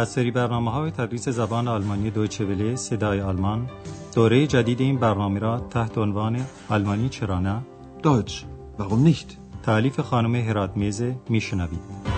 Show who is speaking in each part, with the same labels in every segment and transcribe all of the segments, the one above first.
Speaker 1: از سری برنامه‌های تدریس زبان آلمانی دویچه وله صدای آلمان، دوره جدید این برنامه را تحت عنوان آلمانی چرا نه؟
Speaker 2: Deutsch, warum nicht?
Speaker 1: تألیف خانم هراتمیز میشنوید.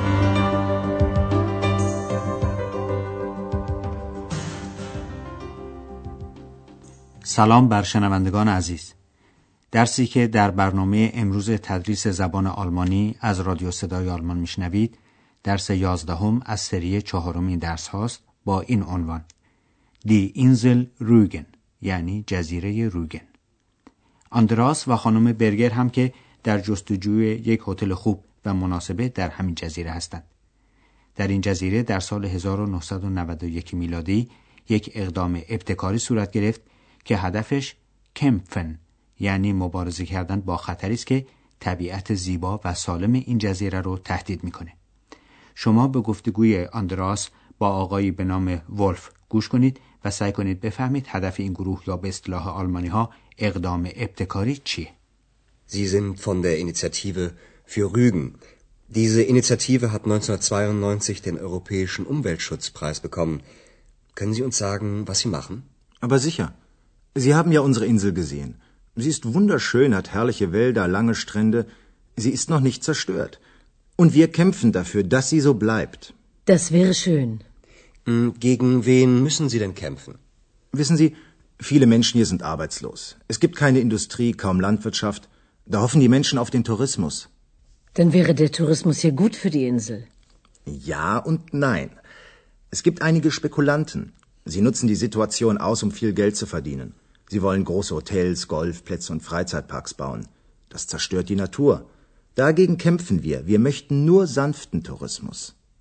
Speaker 3: سلام بر شنوندگان عزیز. درسی که در برنامه امروز تدریس زبان آلمانی از رادیو صدای آلمان میشنوید، درس 11 از سری 4 این درس هاست با این عنوان: Die Insel Rügen، یعنی جزیره روگن. آندراس و خانم برگر هم که در جستجوی یک هتل خوب و مناسبه در همین جزیره هستند. در این جزیره در سال 1991 میلادی یک اقدام ابتکاری صورت گرفت که هدفش کمپفن، یعنی مبارزه کردن با خطری است که طبیعت زیبا و سالم این جزیره رو تهدید میکنه. شما به گفتگوی آندراس با آقایی به نام ولف گوش کنید و سعی کنید بفهمید هدف این گروه یا به اصطلاح آلمانی ها اقدام ابتکاری چیه.
Speaker 4: Sie sind von der Initiative für Rügen. Diese Initiative hat 1992 den Europäischen Umweltschutzpreis bekommen. Können Sie uns sagen, was Sie machen?
Speaker 2: Aber sicher. Sie haben ja unsere Insel gesehen. Sie ist wunderschön, hat herrliche Wälder, lange Strände. Sie ist noch nicht zerstört. Und wir kämpfen dafür, dass sie so bleibt.
Speaker 5: Das wäre schön.
Speaker 4: Gegen wen müssen Sie denn kämpfen?
Speaker 2: Wissen Sie, viele Menschen hier sind arbeitslos. Es gibt keine Industrie, kaum Landwirtschaft. Da hoffen die Menschen auf den Tourismus.
Speaker 5: Dann wäre der Tourismus hier gut für die Insel.
Speaker 2: Ja und nein. Es gibt einige Spekulanten. Sie nutzen die Situation aus, um viel Geld zu verdienen. Sie wollen große Hotels, Golfplätze und Freizeitparks bauen. Das zerstört die Natur. Dagegen kämpfen wir. Wir möchten nur sanften Tourismus.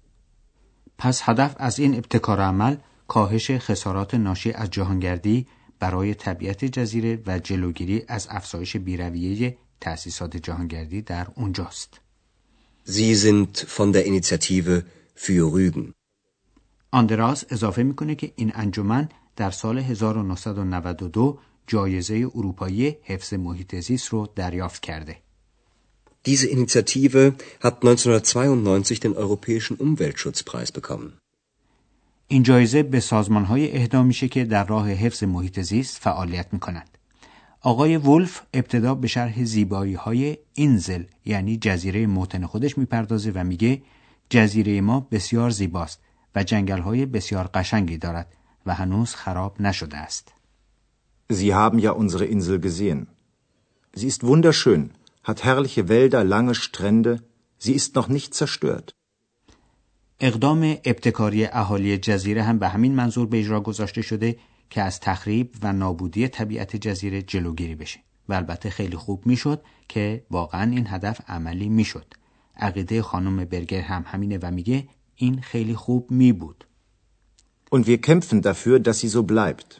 Speaker 3: پس هدف از این ابتکار عمل کاهش خسارات ناشی از جهانگردی برای طبیعت جزیره و جلوگیری از افزایش بی‌رویه تأسیسات جهانگردی در اونجاست.
Speaker 4: Sie sind von der Initiative für Rügen.
Speaker 3: آندراس اضافه میکنه که این انجمن در سال 1992 جایزه اروپایی حفظ محیط زیست رو دریافت کرده.
Speaker 4: Diese Initiative hat 1992 den Europäischen Umweltschutzpreis bekommen.
Speaker 3: این جایزه به سازمان‌های اهدا میشه که در راه حفظ محیط زیست فعالیت میکنند. آقای ولف ابتدا به شرح زیبایی‌های اینزل، یعنی جزیره موطن خودش میپردازه و میگه جزیره ما بسیار زیباست و جنگل‌های بسیار قشنگی دارد و هنوز خراب نشده است.
Speaker 2: Sie haben ja unsere Insel gesehen. Sie ist wunderschön, hat herrliche Wälder, lange Strände. Sie ist noch nicht zerstört.
Speaker 3: اقدام ابتکاری اهالی جزیره هم به همین منظور به اجرا گذاشته شده که از تخریب و نابودی طبیعت جزیره جلوگیری بشه. و البته خیلی خوب میشد که واقعا این هدف عملی میشد. عقیده خانم برگر هم همینه و میگه این خیلی خوب می بود.
Speaker 2: Und wir kämpfen dafür, dass sie so bleibt.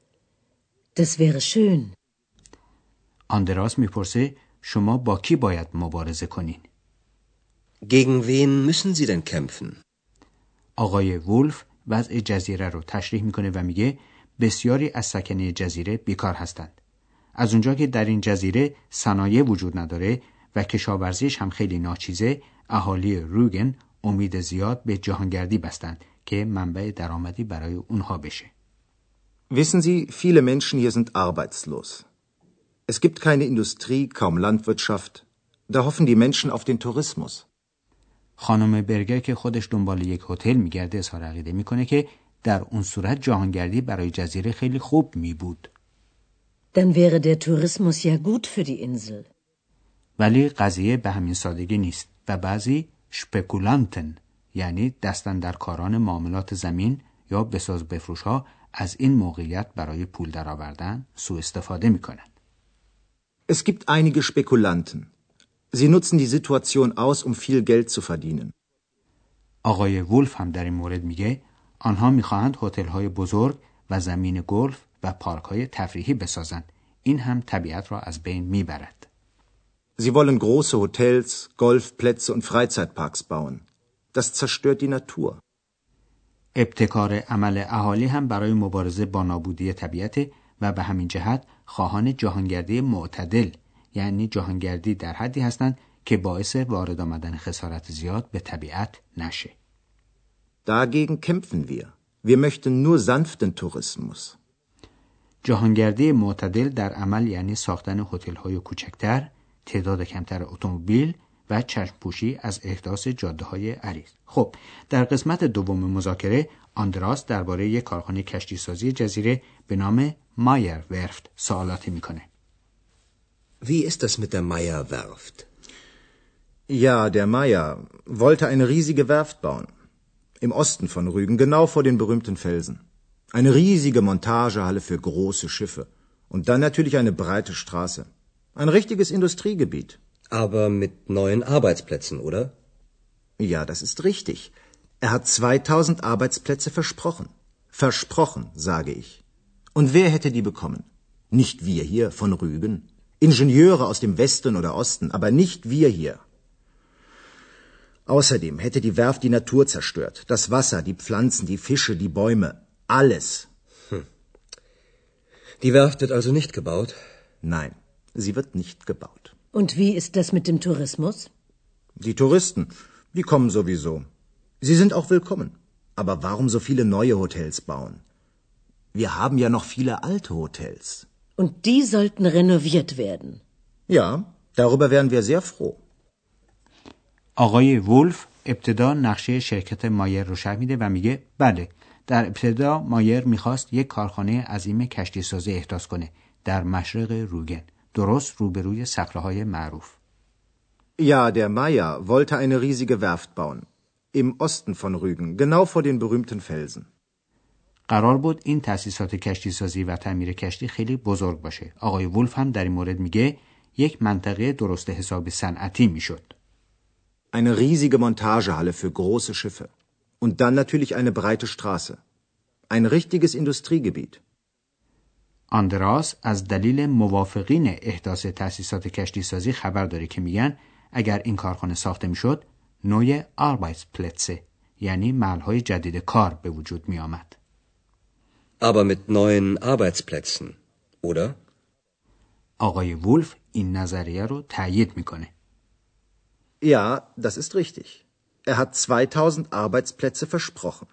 Speaker 5: Das wäre schön.
Speaker 3: آندراس میپرسه شما با کی باید مبارزه کنین؟
Speaker 4: Gegen wen müssen Sie denn kämpfen?
Speaker 3: آقای وولف وضع جزیره رو تشریح میکنه و میگه بسیاری از سکنه جزیره بیکار هستند. از اونجا که در این جزیره صنایع وجود نداره و کشاورزیش هم خیلی ناچیزه، اهالی روگن امید زیاد به جهانگردی بستند که منبع درآمدی برای اونها بشه.
Speaker 2: Wissen Sie, viele Menschen hier sind arbeitslos. Es gibt keine Industrie, kaum Landwirtschaft. Da hoffen die Menschen auf den Tourismus.
Speaker 3: خانم برگر که خودش دنبال یک هتل میگرده اظهار عقیده میکنه که در اون صورت جهانگردی برای جزیره خیلی خوب می بود.
Speaker 5: Dann wäre der Tourismus ja gut für die Insel.
Speaker 3: ولی قضیه به همین سادگی نیست و بعضی شپکولانتن، یعنی دستاندرکاران معاملات زمین یا بساز بفروش ها، از این موقعیت برای پول درآوردن سوء استفاده میکنند.
Speaker 2: Es gibt einige Spekulanten. Sie nutzen die Situation aus, um viel Geld zu verdienen.
Speaker 3: آقای وولف هم در این مورد میگه آنها میخواهند هتل‌های بزرگ و زمین گلف و پارک‌های تفریحی بسازند. این هم طبیعت را از بین میبرد.
Speaker 2: Sie wollen große Hotels, Golfplätze und Freizeitparks bauen. Das zerstört die Natur.
Speaker 3: ابتکار عمل اهالی هم برای مبارزه با نابودی طبیعت و به همین جهت خواهان جهانگردی معتدل، یعنی جهانگردی در حدی هستند که باعث وارد آمدن خسارت زیاد به طبیعت نشه.
Speaker 2: Dagegen kämpfen wir. Wir möchten nur sanften Tourismus.
Speaker 3: جهانگردی معتدل در عمل یعنی ساختن هتل‌های کوچکتر، تعداد کمتر اتومبیل و چشم‌پوشی از احداث جاده‌های عریض. خب، در قسمت دوم مذاکره آندراس درباره یک کارخانه کشتیسازی جزیره به نام مایر ورفت سوالاتی میکنه.
Speaker 4: Wie ist das mit der Meyer Werft?
Speaker 2: Ja, der Meyer wollte eine riesige Werft bauen. Im Osten von Rügen, genau vor den berühmten Felsen. Eine riesige Montagehalle für große Schiffe. Und dann natürlich eine breite Straße. Ein richtiges Industriegebiet.
Speaker 4: Aber mit neuen Arbeitsplätzen, oder?
Speaker 2: Ja, das ist richtig. Er hat 2000 Arbeitsplätze versprochen. Versprochen, sage ich. Und wer hätte die bekommen? Nicht wir hier von Rügen. Ingenieure aus dem Westen oder Osten, aber nicht wir hier. Außerdem hätte die Werft die Natur zerstört. Das Wasser, die Pflanzen, die Fische, die Bäume. Alles.
Speaker 4: Die Werft wird also nicht gebaut?
Speaker 2: Nein, sie wird nicht gebaut.
Speaker 5: Und wie ist das mit dem Tourismus?
Speaker 2: Die Touristen, die kommen sowieso. Sie sind auch willkommen. Aber warum so viele neue Hotels bauen? Wir haben ja noch viele alte Hotels.
Speaker 5: Und die sollten renoviert werden.
Speaker 2: Ja, darüber wären wir sehr froh.
Speaker 3: آقای وولف ابتدا نقشه شرکت مایر رو شرح میده و میگه بله، در ابتدا مایر میخواست یک کارخانه عظیم کشتیسازی احداث کنه در مشرق روگن، درست روبروی صخره‌های معروف.
Speaker 2: Ja, der Meyer wollte eine riesige Werft bauen. Im Osten von Rügen, genau vor den berühmten Felsen.
Speaker 3: قرار بود این تأسیسات کشتیسازی و تعمیر کشتی خیلی بزرگ باشه. آقای وولف هم در این مورد میگه یک منطقه درست حساب صنعتی میشد.
Speaker 2: Eine riesige Montagehalle für große Schiffe. Und dann natürlich eine breite Straße. Ein richtiges Industriegebiet.
Speaker 3: آندراس از دلیل موافقین احداث تأسیسات کشتیسازی خبر داره که میگن اگر این کارخانه ساخته میشد نوع Arbeitsplätze یعنی محل‌های جدید کار به وجود می آمد.
Speaker 4: Aber mit neuen Arbeitsplätzen, oder?
Speaker 3: آقای وولف این نظریه رو تایید میکنه.
Speaker 2: Ja, das ist richtig. Er hat 2000 Arbeitsplätze versprochen.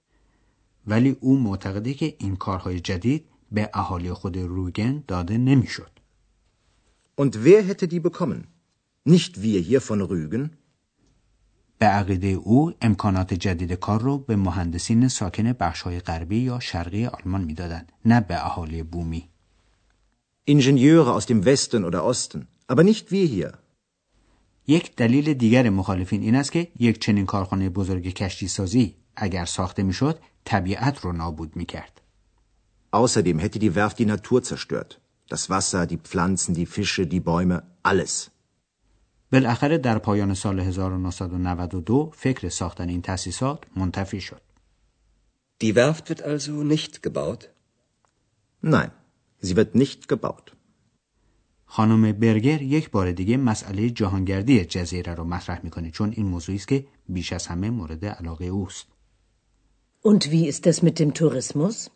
Speaker 3: ولی او معتقده که این کارهای جدید به اهالی خود روگن داده نمیشد.
Speaker 2: Und wer hätte die bekommen? Nicht wir hier von Rügen?
Speaker 3: به عقیده او امکانات جدید کار رو به مهندسین ساکن بخش‌های غربی یا شرقی آلمان میدادند، نه به اهالی بومی.
Speaker 2: Ingenieure aus dem Westen oder Osten, aber nicht wir hier.
Speaker 3: یک دلیل دیگر مخالفین این است که یک چنین کارخانه بزرگ کشتیسازی اگر ساخته میشد طبیعت رو نابود میکرد.
Speaker 2: Außerdem hätte die Werft die Natur zerstört. Das Wasser, die Pflanzen, die Fische, die Bäume, alles.
Speaker 3: بالاخره در پایان سال 1992 فکر ساختن این تأسیسات منتفی شد.
Speaker 4: Die Werft wird also nicht gebaut?
Speaker 2: Nein, sie wird nicht gebaut.
Speaker 3: خانم برگر یک بار دیگه مسئله جهانگردی جزیره رو مطرح میکنه چون این موضوعی است که بیش از همه مورد علاقه اوست.
Speaker 5: Und wie ist das mit dem Tourismus?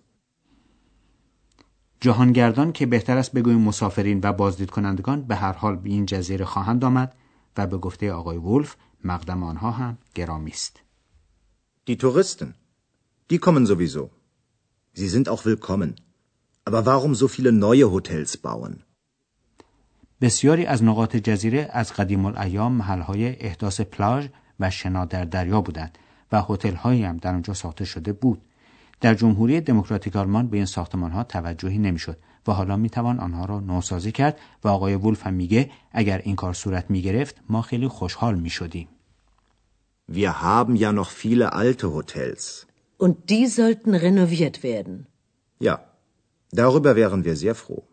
Speaker 3: جهانگردان که بهتر است بگوییم مسافرین و بازدید کنندگان به هر حال به این جزیره خواهند آمد و به گفته آقای وولف مقدم آنها هم گرامی است.
Speaker 2: Die Touristen, die kommen sowieso. Sie sind auch willkommen. Aber warum so viele neue Hotels bauen?
Speaker 3: بسیاری از نقاط جزیره از قدیم الایام محل‌های احداث پلاژ و شنا در دریا بودند و هتل‌هایی هم در آنجا ساخته شده بود. در جمهوری دموکراتیک آلمان به این ساختمان‌ها توجهی نمی‌شد و حالا می‌توان آنها را نوسازی کرد و آقای وولف هم میگه اگر این کار صورت می‌گرفت ما خیلی خوشحال می‌شدیم.
Speaker 2: Wir haben ja noch viele alte Hotels.
Speaker 5: Und die sollten renoviert werden.
Speaker 2: Ja, darüber wären wir sehr froh.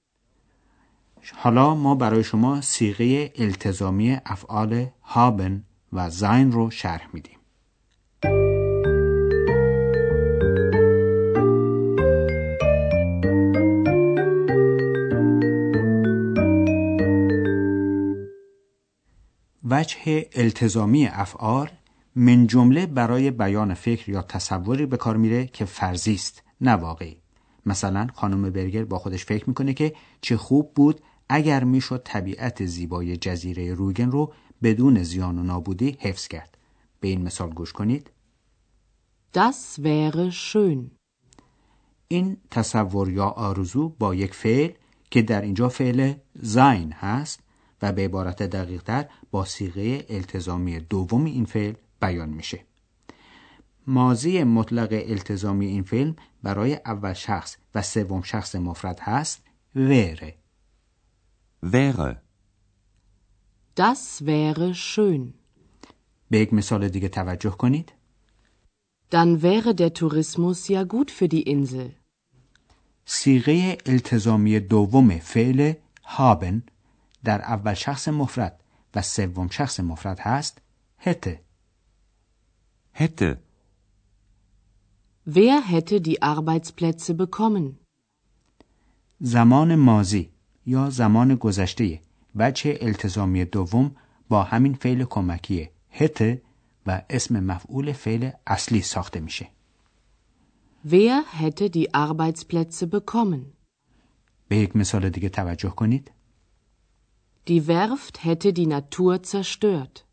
Speaker 3: حالا ما برای شما صیغه التزامی افعال haben و sein رو شرح میدیم. وجه التزامی افعال من جمله برای بیان فکر یا تصوری به کار میره که فرضی است نه واقعی. مثلا خانم برگر با خودش فکر میکنه که چه خوب بود اگر میشد طبیعت زیبای جزیره روگن رو بدون زیان و نابودی حفظ کرد. به این مثال گوش کنید.
Speaker 6: Das wäre schön.
Speaker 3: این تصور یا آرزو با یک فعل که در اینجا فعل sein هست و به عبارت دقیق‌تر با صیغه التزامی دوم این فعل بیان میشه. ماضی مطلق التزامی این فعل برای اول شخص و سوم شخص مفرد هست wäre.
Speaker 7: Wäre.
Speaker 6: Das wäre schön.
Speaker 3: به یک مثال دیگه توجه کنید.
Speaker 6: Dann wäre der Tourismus ja gut für die Insel.
Speaker 3: صیغه التزامی دوم فعل haben در اول شخص مفرد و سوم شخص مفرد هست hätte.
Speaker 7: Hätte.
Speaker 6: Wer hätte die Arbeitsplätze bekommen?
Speaker 3: زمان ماضی یا زمان گذشته وجه التزامی دوم با همین فعل کمکی hätte و اسم مفعول فعل اصلی ساخته میشه.
Speaker 6: Wer hätte die Arbeitsplätze bekommen?
Speaker 3: به یک مثال دیگه توجه کنید.
Speaker 6: Die Werft hätte die Natur zerstört.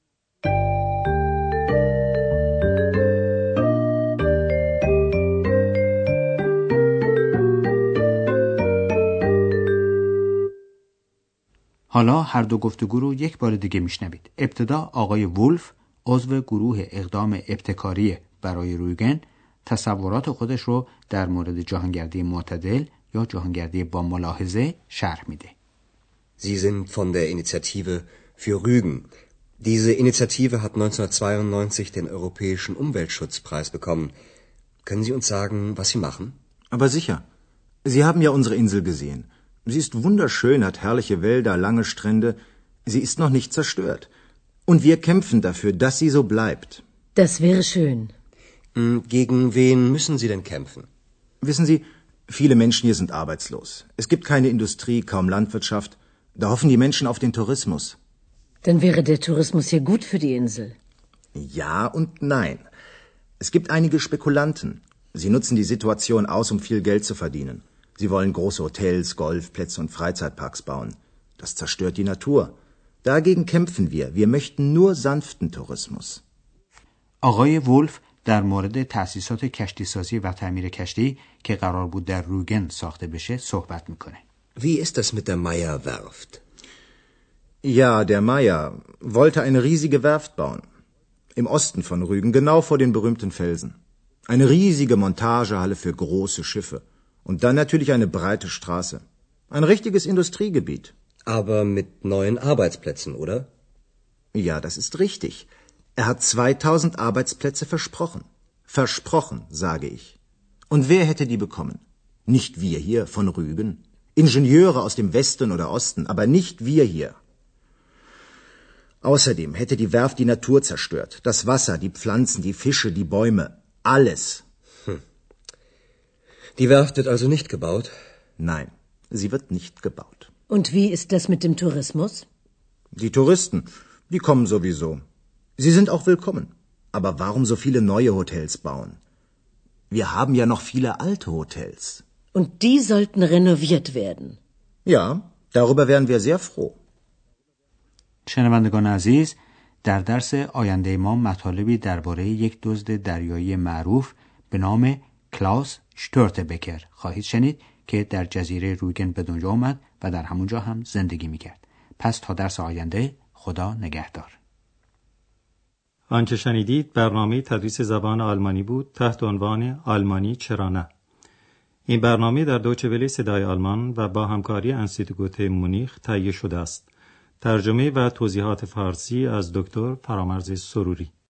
Speaker 3: حالا هر دو گفتگو رو یک بار دیگه میشنوید. ابتدا آقای وولف عضو گروه اقدام ابتکاری برای رویگن تصورات خودش رو در مورد جهانگردی معتدل یا جهانگردی با ملاحظه شرح میده.
Speaker 4: Sie sind von der Initiative für Rügen. Diese Initiative hat 1992 den Europäischen Umweltschutzpreis bekommen. Können Sie uns sagen, was Sie machen?
Speaker 2: Aber sicher. Sie haben ja unsere Insel gesehen. Sie ist wunderschön, hat herrliche Wälder, lange Strände. Sie ist noch nicht zerstört. Und wir kämpfen dafür, dass sie so bleibt.
Speaker 5: Das wäre schön.
Speaker 4: Gegen wen müssen Sie denn kämpfen?
Speaker 2: Wissen Sie, viele Menschen hier sind arbeitslos. Es gibt keine Industrie, kaum Landwirtschaft. Da hoffen die Menschen auf den Tourismus.
Speaker 5: Dann wäre der Tourismus ja gut für die Insel.
Speaker 2: Ja und nein. Es gibt einige Spekulanten. Sie nutzen die Situation aus, um viel Geld zu verdienen. Sie wollen große Hotels, Golfplätze und Freizeitparks bauen. Das zerstört die Natur. Dagegen kämpfen wir. Wir möchten nur sanften Tourismus.
Speaker 3: آقای وولف در مورد تأسیسات کشتیسازی و تعمیر کشتی که قرار بود در روگن ساخته بشه صحبت میکنه.
Speaker 4: Wie ist das mit der Meyer-Werft?
Speaker 2: Ja, der Meyer wollte eine riesige Werft bauen. Im Osten von Rügen, genau vor den berühmten Felsen. Eine riesige Montagehalle für große Schiffe. Und dann natürlich eine breite Straße. Ein richtiges Industriegebiet.
Speaker 4: Aber mit neuen Arbeitsplätzen, oder?
Speaker 2: Ja, das ist richtig. Er hat 2000 Arbeitsplätze versprochen. Versprochen, sage ich. Und wer hätte die bekommen? Nicht wir hier von Rügen. Ingenieure aus dem Westen oder Osten, aber nicht wir hier. Außerdem hätte die Werft die Natur zerstört. Das Wasser, die Pflanzen, die Fische, die Bäume. Alles.
Speaker 4: Die Werft wird also nicht gebaut?
Speaker 2: Nein, sie wird nicht gebaut.
Speaker 5: Und wie ist das mit dem Tourismus?
Speaker 2: Die Touristen, die kommen sowieso. Sie sind auch willkommen. Aber warum so viele neue Hotels bauen? Wir haben ja noch viele alte Hotels.
Speaker 5: Und die sollten renoviert werden.
Speaker 2: Ja, darüber wären wir sehr froh.
Speaker 3: شنوندگان عزیز، در درس آینده ما مطالبی درباره یک دزد دریایی معروف به نام کلاوس شتورتبکر خواهید شنید که در جزیره رویگن به دنیا آمد و در همونجا هم زندگی میکرد. پس تا درس آینده، خدا نگهدار.
Speaker 1: آنچه شنیدید برنامه تدریس زبان آلمانی بود تحت عنوان آلمانی چرا نه. این برنامه در دویچه وله صدای آلمان و با همکاری انستیتوت مونیخ تهیه شده است. ترجمه و توضیحات فارسی از دکتر فرامرز سروری.